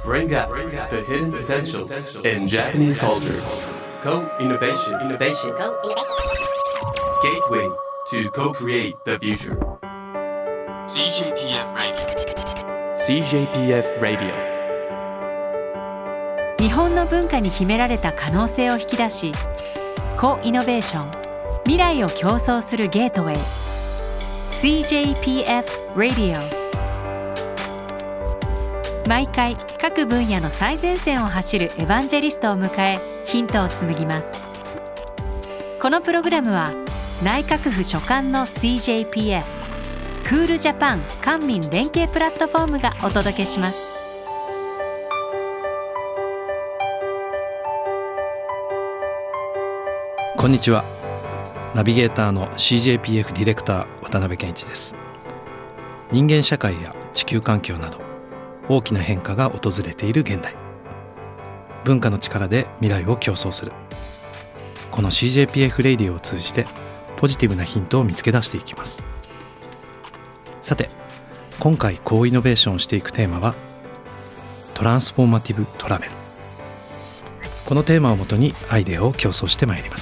Bring out the hidden potentials in Japanese culture. Co-innovation. Gateway to co-create the future. CJPF Radio. 日本の文化に秘められた可能性を引き出し、コイノベーション、未来を競争するゲートウェイ CJPF Radio。 毎回各分野の最前線を走るエヴァンジェリストを迎え、ヒントを紡ぎます。このプログラムは内閣府所管の CJPF クールジャパン官民連携プラットフォームがお届けします。 こんにちは。ナビゲーターの CJPF ディレクター渡辺健一です。人間社会や地球環境など大きな変化が訪れている現代、文化の力で未来を競争する、この CJPF レディオを通じてポジティブなヒントを見つけ出していきます。さて、今回コイノベーションをしていくテーマはトランスフォーマティブトラベル。このテーマをもとにアイデアを競争してまいります。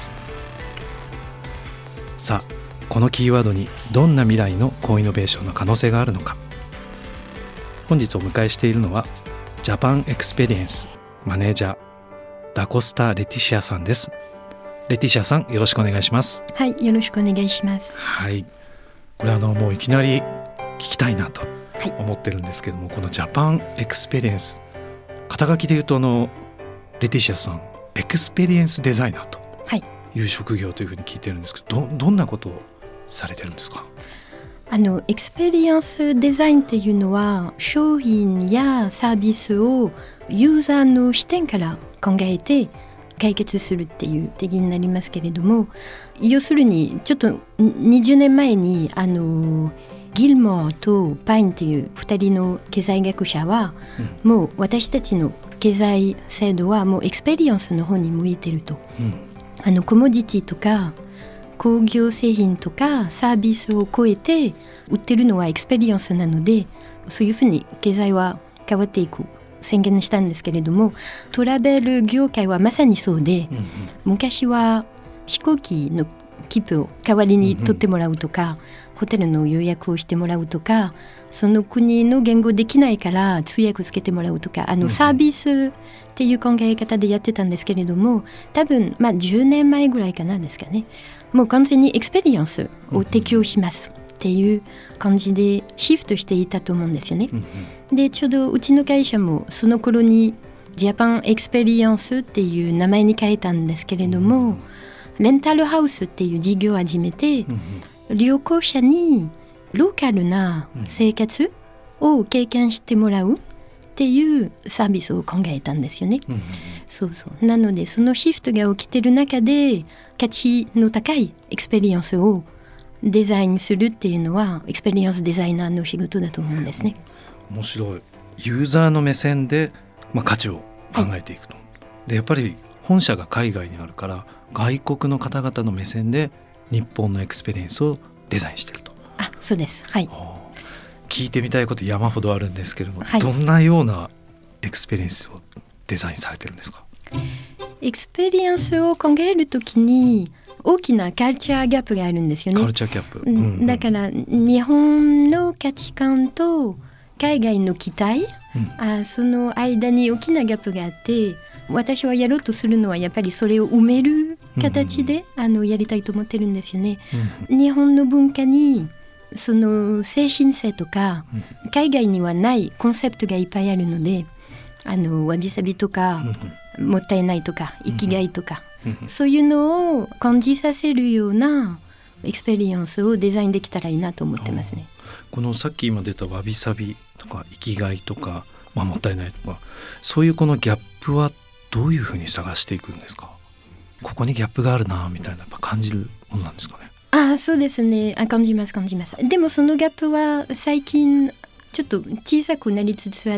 さあ、このキーワードにどんな未来のコイノベーションの可能性があるのか。本日お迎えしているのはジャパンエクスペリエンスマネージャーダコスタ・レティシアさんです。レティシアさん、よろしくお願いします。 はい、よろしくお願いします。 はい、これもういきなり聞きたいなと思ってるんですけども、このジャパンエクスペリエンス、肩書きで言うとレティシアさんエクスペリエンスデザイナーという職業というふうに聞いてるんですけど、どんなことをされてるんですか？ エクスペリエンスデザインっていうのは商品やサービスをユーザーの視点から考えて解決するっていう定義になりますけれども、要するにちょっと20年前にギルモアとパインっていう2人の経済学者は、もう私たちの経済制度はもうエクスペリエンスの方に向いてると、コモディティとか工業製品とかサービスを超えて売ってるのはエクスペリエンスなので、そういうふうに経済は変わっていく宣言したんですけれども、トラベル業界はまさにそうで、昔は飛行機の切符を代わりに取ってもらうとか、ホテルの予約をしてもらうとか、その国の言語できないから通訳をつけてもらうとか、サービスっていう考え方でやってたんですけれども、多分10年前ぐらいかなですかね、もう完全にエクスペリエンスを適用しますっていう感じでシフトしていたと思うんですよね。で、ちょうどうちの会社もその頃にジャパンエクスペリエンスっていう名前に変えたんですけれども、レンタルハウスっていう事業を始めて、旅行者にローカルな生活を経験してもらうっていうサービスを考えたんですよね。なのでそのシフトが起きてる中で価値の高いエクスペリエンスをデザインするっていうのはエクスペリエンスデザイナーの仕事だと思うんですね。 面白い。ユーザーの目線で、価値を考えていくと、でやっぱり本社が海外にあるから外国の方々の目線で日本のエクスペリエンスをデザインしていると。 そうです。はい。 聞いてみたいこと山ほどあるんですけれども、どんなようなエクスペリエンスをデザインされてるんですか？ エクスペリエンスを考えるときに大きなカルチャーギャップがあるんですよね。 カルチャーギャップ、 だから日本の価値観と海外の期待、その間に大きなギャップがあって、私はやろうとするのはやっぱりそれを埋める形で、やりたいと思ってるんですよね。日本の文化にその精神性とか、海外にはないコンセプトがいっぱいあるので、わびさびとか、もったいないとか生きがいとか、そういうのを感じさせるようなエクスペリエンスをデザインできたらいいなと思ってますね。 このさっき今出たわびさびとか生きがいとか、もったいないとか、そういうこのギャップはどういうふうに探していくんですか？ここにギャップがあるなみたいなやっぱ感じるものなんですかね？ そうですね。感じます。でもそのギャップは最近ちょっと小さくなりつつあって、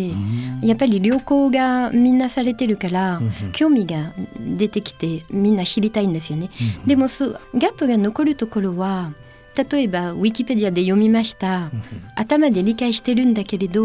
やっぱり旅行がみんなされてるから、興味が出てきてみんな知りたいんですよね。でもギャップが残るところは、例えばウィキペディアで読みました、頭で理解してるんだけれど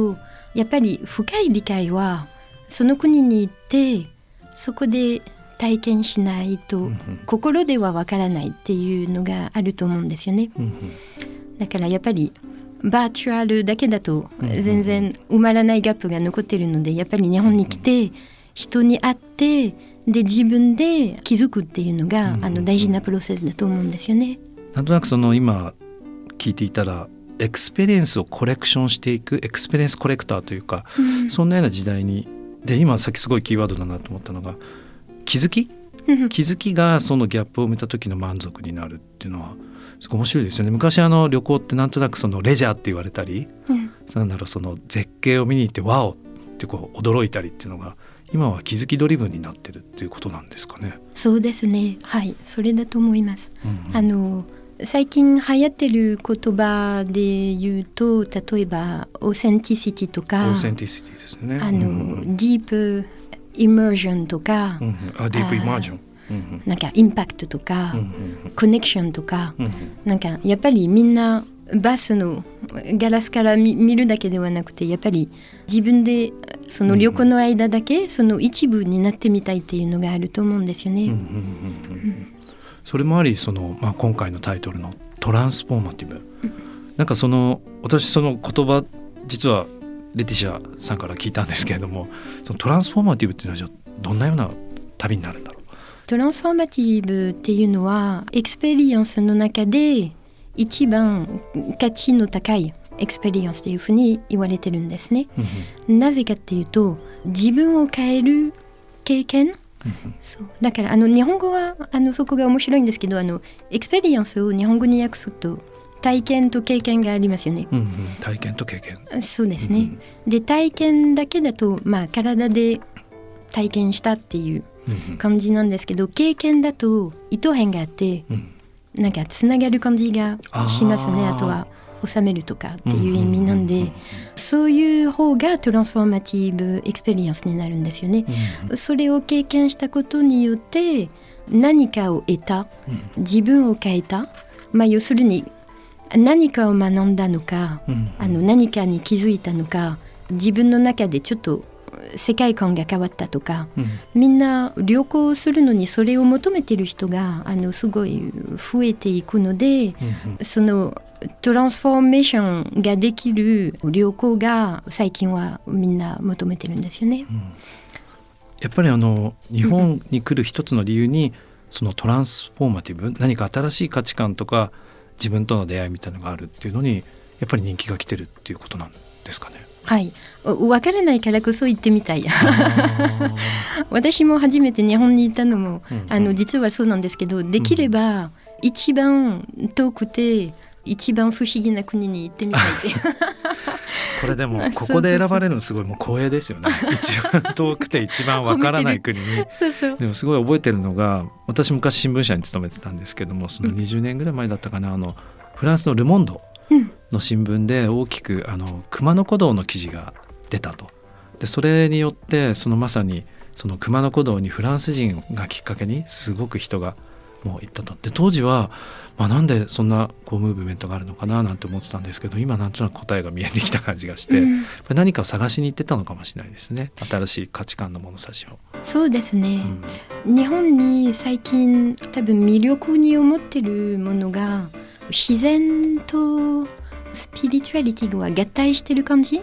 やっぱり深い理解はその国に行ってそこで体験しないと心ではわからないっていうのがあると思うんですよね。だからやっぱりバーチャルだけだと全然埋まらないギャップが残っているので、やっぱり日本に来て人に会ってで自分で気づくっていうのが大事なプロセスだと思うんですよね。 なんとなくその今聞いていたらエクスペリエンスをコレクションしていくエクスペリエンスコレクターというか、そんなような時代にで、今さっきすごいキーワードだなと思ったのが気づきがそのギャップを埋めた時の満足になるっていうのはすごい面白いですよね。昔旅行ってなんとなくそのレジャーって言われたり、なんだろう、その絶景を見に行ってワオってこう驚いたりっていうのが今は気づきドリブンになってるっていうことなんですかね。 そうですね、はい、それだと思います。最近流行ってる言葉で言うと、例えばオーセンティシティとか、 オーセンティシティですね。 ディープイマージョンとか、 ディープイマージョン、 なんかインパクトとか、コネクションとか、なんかやっぱりみんなバスのガラスから見るだけではなくて、やっぱり自分でその旅行の間だけその一部になってみたいっていうのがあると思うんですよね。 それもあり今回のタイトルのトランスフォーマティブ、なんか私その言葉実はレティシアさんから聞いたんですけれども、そのトランスフォーマティブっていうのはじゃあどんなような旅になるんだろう。 トランスフォーマティブっていうのはエクスペリエンスの中で一番価値の高いエクスペリエンスというふうに言われてるんですね。なぜかっていうと自分を変える経験、そうだから日本語はそこが面白いんですけど、エクスペリエンスを日本語に訳すと体験と経験がありますよね。 体験と経験、 そうですね。で体験だけだと、体で体験したっていう感じなんですけど、経験だと糸辺があって、なんかつながる感じがしますね。あとは収めるとかっていう意味なんで、そういう方がトランスフォーマティブエクスペリエンスになるんですよね。それを経験したことによって何かを得た、自分を変えた、要するに何かを学んだのか、何かに気づいたのか、自分の中でちょっと世界観が変わったとか、みんな旅行するのにそれを求めている人がすごい増えていくので、そのトランスフォーメーションができる旅行が最近はみんな求めてるんですよね。 やっぱり日本に来る一つの理由にそのトランスフォーマティブ、何か新しい価値観とか自分との出会いみたいなのがあるっていうのにやっぱり人気が来てるっていうことなんですかね。はい、 分からないからこそ行ってみたい私も初めて日本に行ったのも、実はそうなんですけど、できれば一番遠くて一番不思議な国に行ってみたいってこれでもここで選ばれるのすごいもう光栄ですよね。一番遠くて一番わからない国にそうでもすごい覚えてるのが、私昔新聞社に勤めてたんですけども、その20年ぐらい前だったかな、フランスのルモンドの新聞で大きく熊野古道の記事が出たと。でそれによってまさにその熊野古道にフランス人がきっかけにすごく人がもう行ったと。で当時は、なんでそんなムーブメントがあるのかななんて思ってたんですけど、今なんとなく答えが見えてきた感じがして、何かを探しに行ってたのかもしれないですね。新しい価値観の物差しを。 そうですね、日本に最近多分魅力に思ってるものが自然とスピリチュアリティが合体してる感じ。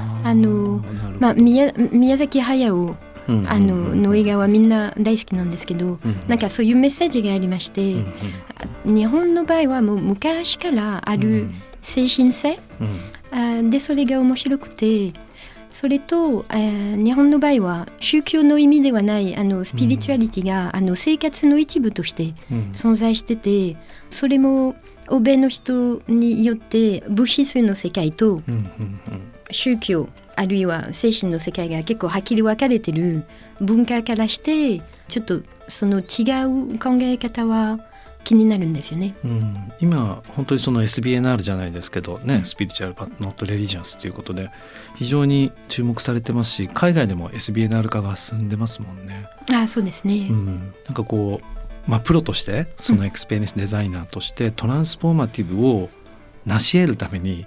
宮崎駿の映画はみんな大好きなんですけど、なんかそういうメッセージがありまして、日本の場合はもう昔からある精神性、でそれが面白くて、それと、日本の場合は宗教の意味ではないスピリチュアリティが生活の一部として存在してて、それも欧米の人によって物質の世界と宗教あるいは精神の世界が結構はっきり分かれてる文化からして、ちょっとその違う考え方は気になるんですよね。 今本当にその SBNR じゃないですけどね、スピリチュアルバットノットレリジャスということで非常に注目されてますし、海外でも SBNR 化が進んでますもんね。 そうですね、 なんかプロとしてそのエクスペリエンスデザイナーとしてトランスフォーマティブを成し得るために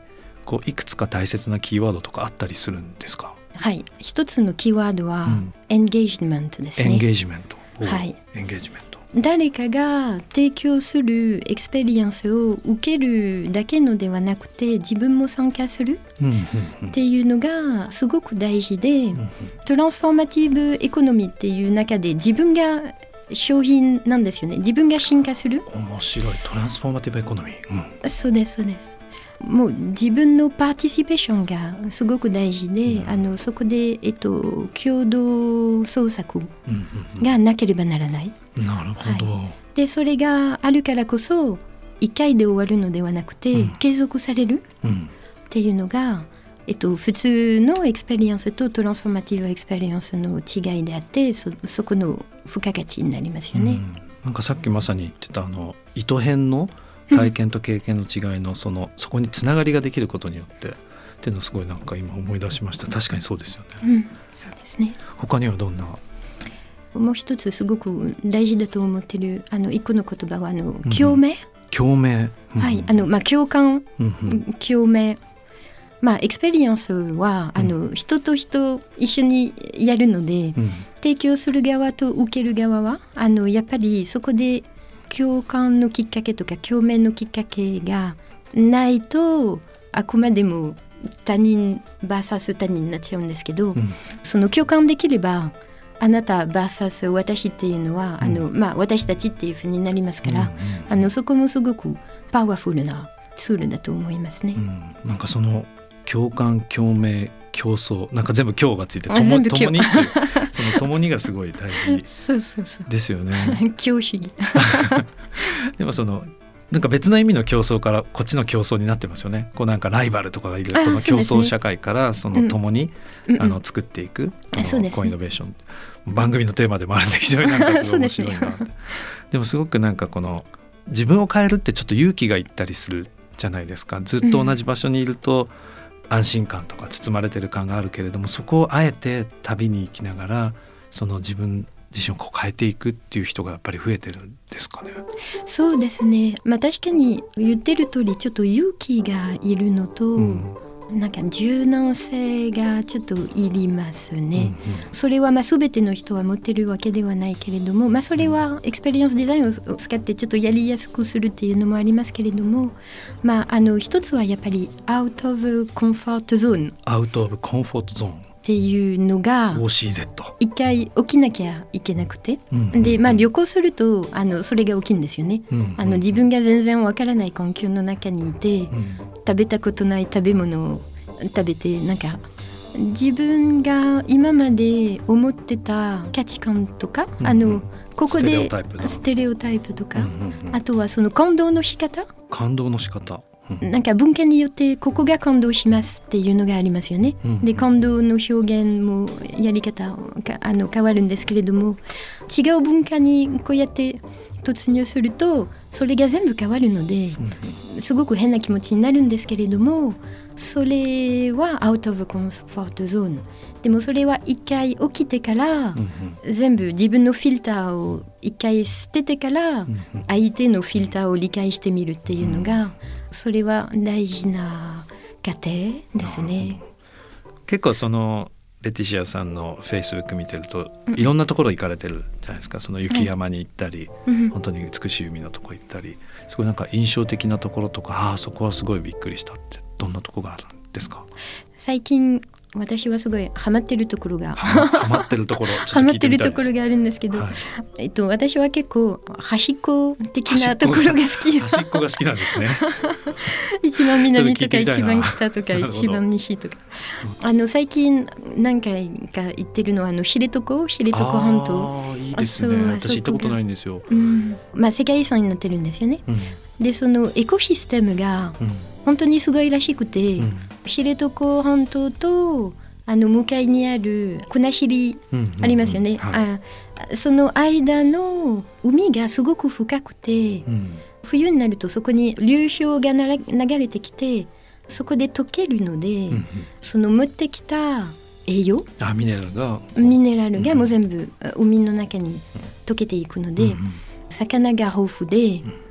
こういくつか大切なキーワードとかあったりするんですか？ はい、一つのキーワードは、エンゲージメントですね。 エンゲージメント、 はい、 エンゲージメント、 誰かが提供するエクスペリエンスを受けるだけのではなくて自分も参加するっていうのがすごく大事で、トランスフォーマティブエコノミーっていう中で自分が商品なんですよね。自分が進化する。 面白い。トランスフォーマティブエコノミー、 そうですそうです。もう自分のパーティシペーションがすごく大事で、そこで、共同創作がなければならない。 なるほど、 でそれがあるからこそ1回で終わるのではなくて、継続されるっていうのが、普通のエクスペリエンスとトランスフォーマティブエクスペリエンスの違いであって、そこの付加価値になりますよね。 なんかさっきまさに言ってた糸編の体験と経験の違いのそこにつながりができることによってっていうのをすごいなんか今思い出しました。確かにそうですよね。 そうですね。 他にはどんな？ もう一つすごく大事だと思ってる一個の言葉は共鳴、 共鳴、 はい、共感、共鳴、エクスペリエンスは人と人一緒にやるので、提供する側と受ける側はやっぱりそこで共感のきっかけとか共鳴のきっかけがないとあくまでも他人 vs 他人になっちゃうんですけど、その共感できればあなた vs 私っていうのは私たちっていうふうになりますから、そこもすごくパワフルなツールだと思いますね。 なんかその共感共鳴競争なんか全部共がついて共にっていうその共にがすごい大事ですよね。 共主義でもなんか別の意味の競争からこっちの競争になってますよね。こうなんかライバルとかがいるこの競争社会から共に作っていくコイノベーション、番組のテーマでもあるんで非常になんかすごい面白いなってでもすごくなんか自分を変えるってちょっと勇気がいったりするじゃないですか。ずっと同じ場所にいると安心感とか包まれてる感があるけれども、そこをあえて旅に行きながら自分自身を変えていくっていう人がやっぱり増えてるんですかね。 そうですね、確かに言ってる通りちょっと勇気がいるのと、なんか柔軟性がちょっといりますね。それは全ての人は持ってるわけではないけれども、それはエクスペリエンスデザインを使ってちょっとやりやすくするっていうのもありますけれども、一つはやっぱりアウトオブコンフォートゾーン、 アウトオブコンフォートゾーンっていうのが OCZ 一回起きなきゃいけなくて、で旅行するとそれが起きるんですよね。自分が全然わからない環境の中にいて、食べたことない食べ物を食べて、なんか自分が今まで思ってた価値観とか、ここでステレオタイプとか、あとは感動の仕方、なんか文化によってここが感動しますっていうのがありますよね。で感動の表現もやり方が変わるんですけれども、違う文化にこうやって突入するとそれが全部変わるので、すごく変な気持ちになるんですけれども、それはアウトオブコンフォートゾーンでも、それは一回起きてから、全部自分のフィルターを一回捨ててから、相手のフィルターを理解してみるっていうのが、それは大事な過程ですね。 結構レティシアさんのフェイスブック見てると、いろんなところ行かれてるじゃないですか。雪山に行ったり、本当に美しい海のとこ行ったり、すごいなんか印象的なところとか、そこはすごいびっくりしたってどんなところがあるんですか？ 最近私はすごいハマってるところがハマってるところハマってるところがあるんですけど、私は結構端っこ的なところが好き。 端っこが好きなんですね。 一番南とか一番北とか一番西とか、最近何回か行ってるのは知床半島。 いいですね。私行ったことないんですよ。 世界遺産になってるんですよね。でそのエコシステムが本当にすごいらしくて、知床半島と向かいにある国後ありますよね。その間の海がすごく深くて、冬になるとそこに流氷が流れてきて、そこで溶けるので、その持ってきた栄養、 ミネラルがもう全部海の中に溶けていくので、魚が豊富で、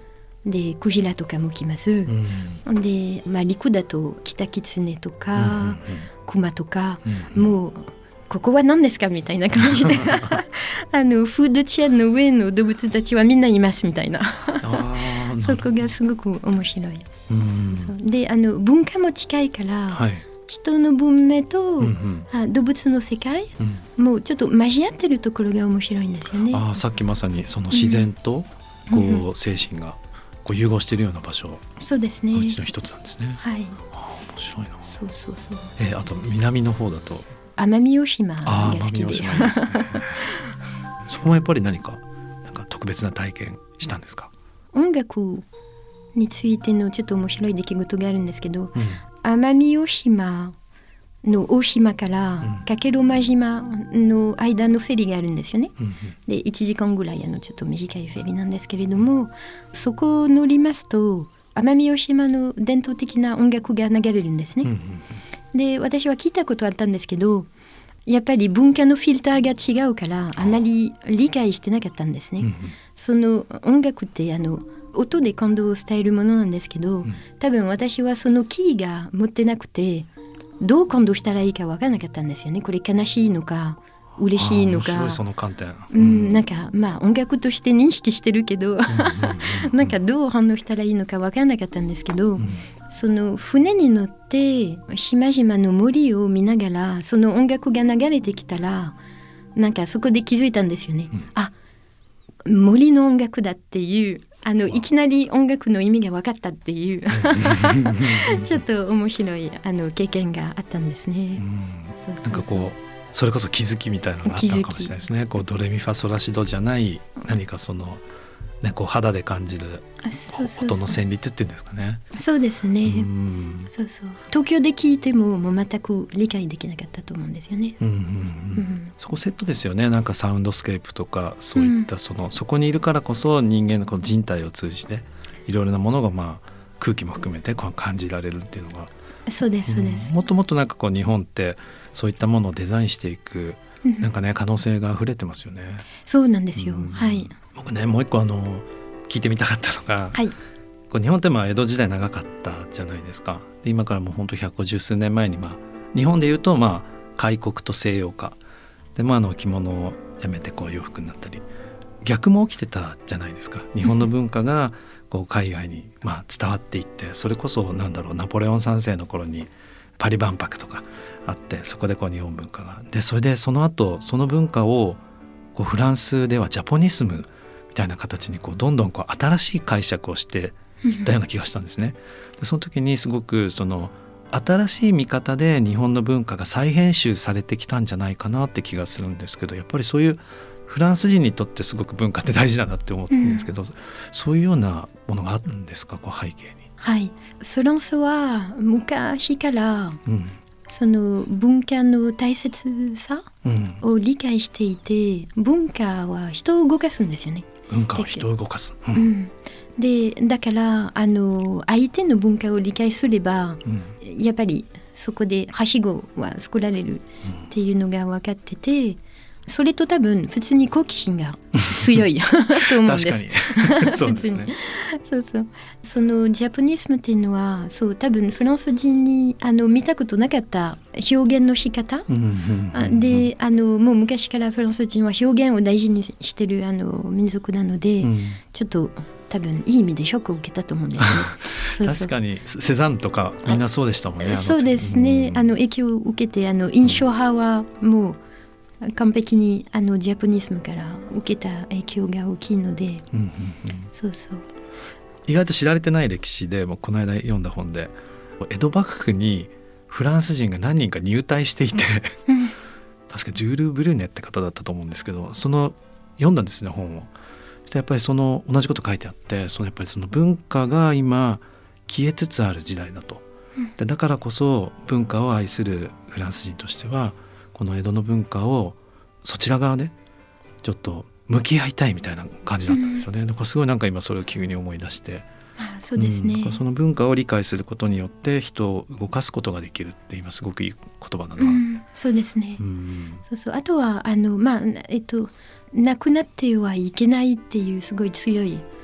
でクジラとかも来ます、で、陸だとキタキツネとか、クマとか、もうここは何ですかみたいな感じでフードチェーンの上の動物たちはみんないますみたいなそこがすごく面白い。そうで文化も近いから、人の文明と、動物の世界、もうちょっと交わってるところが面白いんですよね。 さっきまさにその自然とこう精神がこう融合しているような場所、 そうですね、 うちの一つなんですね。 はい、 面白いな。 そうそうそう。 あと南の方だと奄美大島が好きで、 ですねそこもやっぱりなんか特別な体験したんですか？ 音楽についてのちょっと面白い出来事があるんですけど、奄美大島の大島から加計呂麻島の間のフェリーがあるんですよね、で1時間ぐらいちょっと短いフェリーなんですけれども、そこを乗りますと奄美大島の伝統的な音楽が流れるんですね、で私は聞いたことあったんですけど、やっぱり文化のフィルターが違うからあまり理解してなかったんですね、その音楽って音で感動を伝えるものなんですけど、多分私はそのキーが持ってなくてどう感動したらいいか分からなかったんですよね。これ悲しいのか嬉しいのか、 面白いその観点、 なんか音楽として認識してるけどなんかどう反応したらいいのか分からなかったんですけど、その船に乗って島々の森を見ながらその音楽が流れてきたら、なんかそこで気づいたんですよね、森の音楽だっていういきなり音楽の意味が分かったっていうちょっと面白い経験があったんですね。 なんかこうそれこそ気づきみたいなのがあったのかもしれないですね。こうドレミファソラシドじゃない何かその、こう肌で感じる音の旋律っていうんですかね。 そうですね、そうそう、東京で聞いても全く理解できなかったと思うんですよね、 そこセットですよね。なんかサウンドスケープとかそういったそこにいるからこそ人間のこの人体を通じていろいろなものが空気も含めてこう感じられるっていうのが、 そうですそうです、 もっともっとなんかこう日本ってそういったものをデザインしていくなんかね可能性が溢れてますよね。 そうなんですよ、はい。 僕ねもう一個聞いてみたかったのが、こう日本って江戸時代長かったじゃないですか。で今からもう本当150数年前に日本でいうと開国と西洋化で着物をやめてこう洋服になったり逆も起きてたじゃないですか。日本の文化がこう海外に伝わっていって、それこそナポレオン3世の頃にパリ万博とかあって、そこでこう日本文化がで、それでその後その文化をこうフランスではジャポニスムみたいな形にこうどんどんこう新しい解釈をしていったような気がしたんですね。でその時にすごく新しい見方で日本の文化が再編集されてきたんじゃないかなって気がするんですけど、やっぱりそういうフランス人にとってすごく文化って大事だなって思うんですけど、そういうようなものがあるんですか、こう背景に。 はい、フランスは昔から、その文化の大切さを理解していて、文化は人を動かすんですよね。 文化は人を動かす、 でだから相手の文化を理解すれば、やっぱりそこではしごは作られるっていうのが分かってて、それと多分普通に好奇心が強いと思うんです。 確かにそうですね。 そのジャポニスムっていうのは多分フランス人に見たことなかった表現の仕方、でもう昔からフランス人は表現を大事にしてる民族なので、ちょっと多分いい意味でショックを受けたと思うんですね。 確かにセザンとかみんなそうでしたもんね。 そうですね、影響を受けて印象派はもう完璧にジャポニスムから受けた影響が大きいので、 意外と知られてない歴史で、この間読んだ本で江戸幕府にフランス人が何人か入隊していて確かジュール・ブルーネって方だったと思うんですけど、読んだんですね本を。やっぱり同じこと書いてあって、やっぱりその文化が今消えつつある時代だと、でだからこそ文化を愛するフランス人としてはこの江戸の文化をそちら側でちょっと向き合いたいみたいな感じだったんですよね。だからすごい今それを急に思い出して、 そうですね、 その文化を理解することによって人を動かすことができるって今すごくいい言葉だな、 そうですね、あとは亡くなってはいけないっていうすごい強い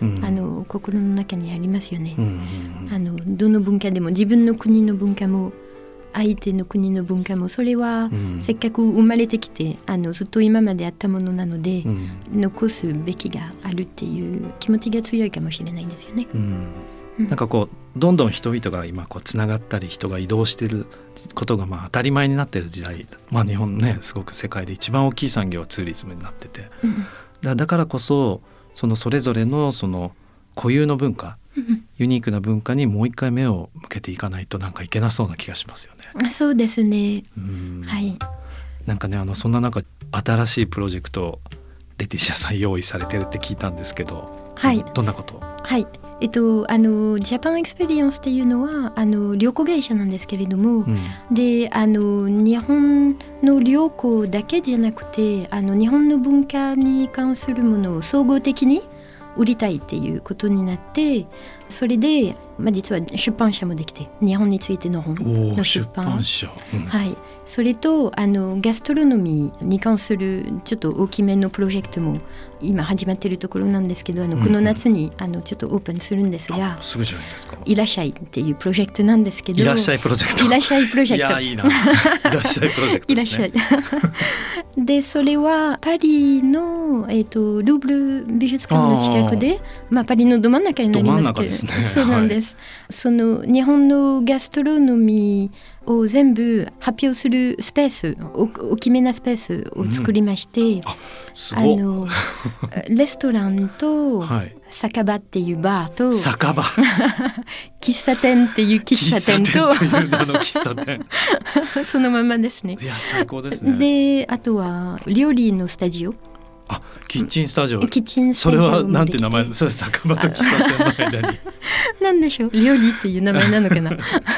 心の中にありますよね。どの文化でも自分の国の文化も相手の国の文化もそれはせっかく生まれてきてずっと今まであったものなので、残すべきがあるっていう気持ちが強いかもしれないですよね。 なんかこうどんどん人々が今こうつながったり人が移動していることが当たり前になっている時代、日本ねすごく世界で一番大きい産業はツーリズムになってて、だからこそそれぞれのその固有の文化、ユニークな文化にもう一回目を向けていかないとなんかいけなそうな気がしますよね。 そうですね。はい。 なんかねそんな中新しいプロジェクトレティシアさん用意されてるって聞いたんですけど、 はい、 どんなこと？ はい。ジャパンエクスペリエンスっていうのは旅行会社なんですけれども、で日本の旅行だけじゃなくて日本の文化に関するものを総合的に売りたいっていうことになって、それで、実は出版社もできて日本についての本の出版社、 はい、それとガストロノミーに関するちょっと大きめのプロジェクトも今始まっているところなんですけど、この夏にちょっとオープンするんですが、 すぐじゃないですか。 いらっしゃいっていうプロジェクトなんですけど、 いらっしゃいプロジェクト、 いらっしゃいプロジェクト、 いやいいな、いらっしゃいプロジェクトですね。いらっしゃいでそれはパリの、ルーブル美術館の近くで、パリのど真ん中になりますけど、 ですね、 そうなんです、その日本のガストロノミーを全部発表するスペース、大きめなスペースを作りまして、 すごいレストランと、酒場っていうバーと酒場喫茶店っていう喫茶店と喫茶店そのままですね。 いや最高ですね。 であとは料理のスタジオ、 キッチンスタジオ、 それはなんて名前？それ酒場と喫茶店の間になんでしょう、料理っていう名前なのかな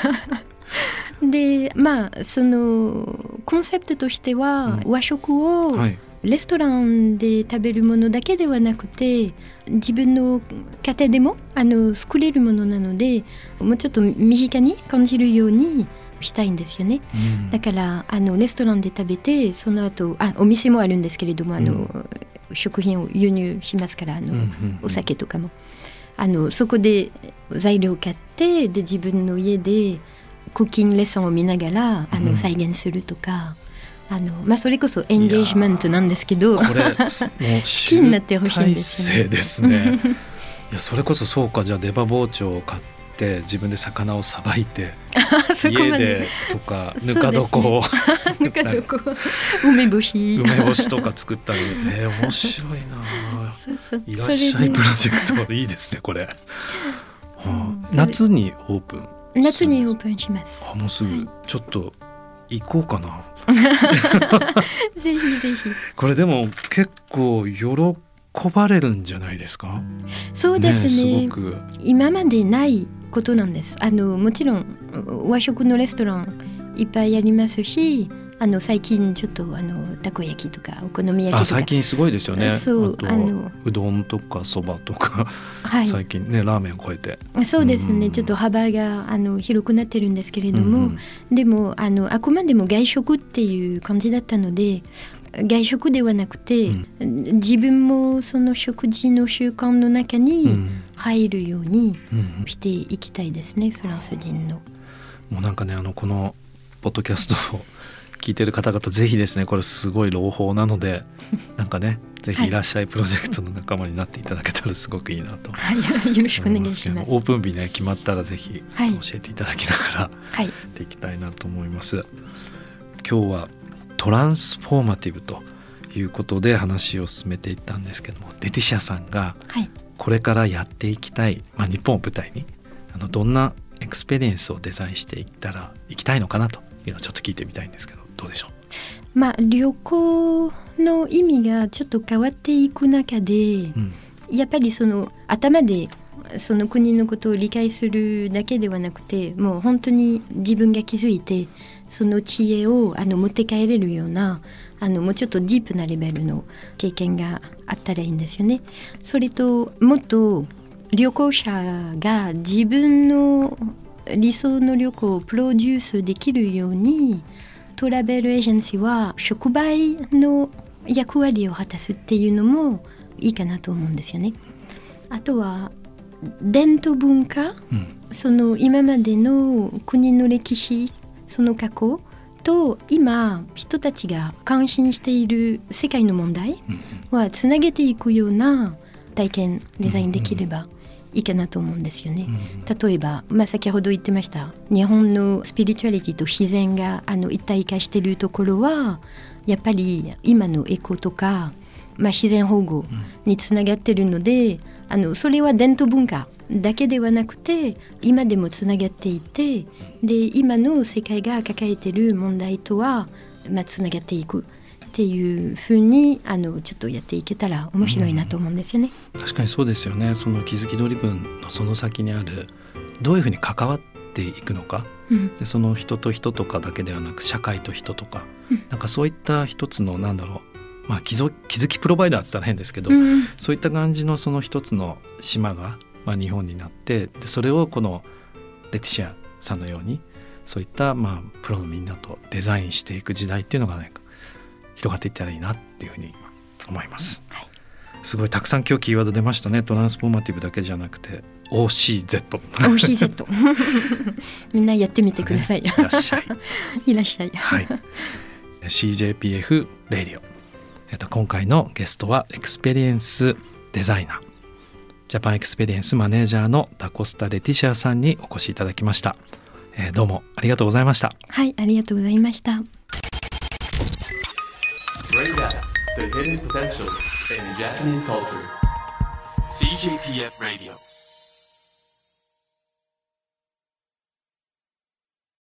でそのコンセプトとしては、和食をレストランで食べるものだけではなくて自分の家庭でも作れるものなので、もうちょっと身近に感じるようにしたいんですよね。だからレストランで食べてその後お店もあるんですけれども食品を輸入しますからお酒とかもそこで材料を買ってで自分の家でクッキングレッスンを見ながら再現するとか、それこそエンゲージメントなんですけど、 これもう好きになってほしいんですよね。 ですねいやそれこそそうか、じゃあ出刃包丁を買って自分で魚をさばいて家でとかぬか床を作ったり梅干しとか作ったり面白いな。いらっしゃいプロジェクトいいですねこれ、夏にオープンします。 もうすぐちょっと行こうかなぜひぜひ。 これでも結構喜ばれるんじゃないですか？ そうですね、 すごく今までないことなんです。もちろん和食のレストランいっぱいありますし、最近ちょっとたこ焼きとかお好み焼きとか最近すごいですよね。 そうあとうどんとかそばとか、最近ねラーメンを超えてそうですね、ちょっと幅が広くなってるんですけれども、でもあくまでも外食っていう感じだったので、外食ではなくて、自分もその食事の習慣の中に入るようにしていきたいですね、フランス人の。 もうなんかねこのポッドキャストを聞いてる方々ぜひですね、これすごい朗報なのでなんかねぜひいらっしゃいプロジェクトの仲間になっていただけたらすごくいいなと、 よろしくお願いします。 オープン日ね決まったらぜひ教えていただきながらやっていきたいなと思います。今日はトランスフォーマティブということで話を進めていったんですけども、レティシアさんがこれからやっていきたい、日本を舞台にどんなエクスペリエンスをデザインしていきたいのかなというのをちょっと聞いてみたいんですけど、どうでしょう？ 旅行の意味がちょっと変わっていく中で、やっぱりその頭でその国のことを理解するだけではなくて、もう本当に自分が気づいてその知恵を持って帰れるようなもうちょっとディープなレベルの経験があったらいいんですよね。それともっと旅行者が自分の理想の旅行をプロデュースできるようにトラベルエージェンシーは触媒の役割を果たすっていうのもいいかなと思うんですよね。 あとは伝統文化、その今までの国の歴史、その過去と今人たちが関心している世界の問題はつなげていくような体験デザインできればいいかなと思うんですよね。例えば、先ほど言ってました日本のスピリチュアリティと自然が一体化しているところはやっぱり今のエコとか、自然保護につながっているので、それは伝統文化だけではなくて今でもつながっていて、で今の世界が抱えている問題とは、つながっていくっていうふうにちょっとやっていけたら面白いなと思うんですよね。 確かにそうですよね。その気づきドリブンのその先にあるどういうふうに関わっていくのか、でその人と人とかだけではなく社会と人とか、なんかそういった一つの気づきプロバイダーって言ったら変ですけど、そういった感じのその一つの島が、日本になって、でそれをこのレティシアさんのようにそういったプロのみんなとデザインしていく時代っていうのが広がっていったらいいなっていうふうに思います、すごいたくさん今日キーワード出ましたね。トランスフォーマティブだけじゃなくて OCZ みんなやってみてください、 いらっしゃいいらっしゃい、 CJPF レディオ、今回のゲストはエクスペリエンスデザイナー、ジャパンエクスペリエンスマネージャーのダコスタ・レティシアさんにお越しいただきました、どうもありがとうございました。 はい、ありがとうございました。 Bring out the hidden potential in Japanese culture. CJPF Radio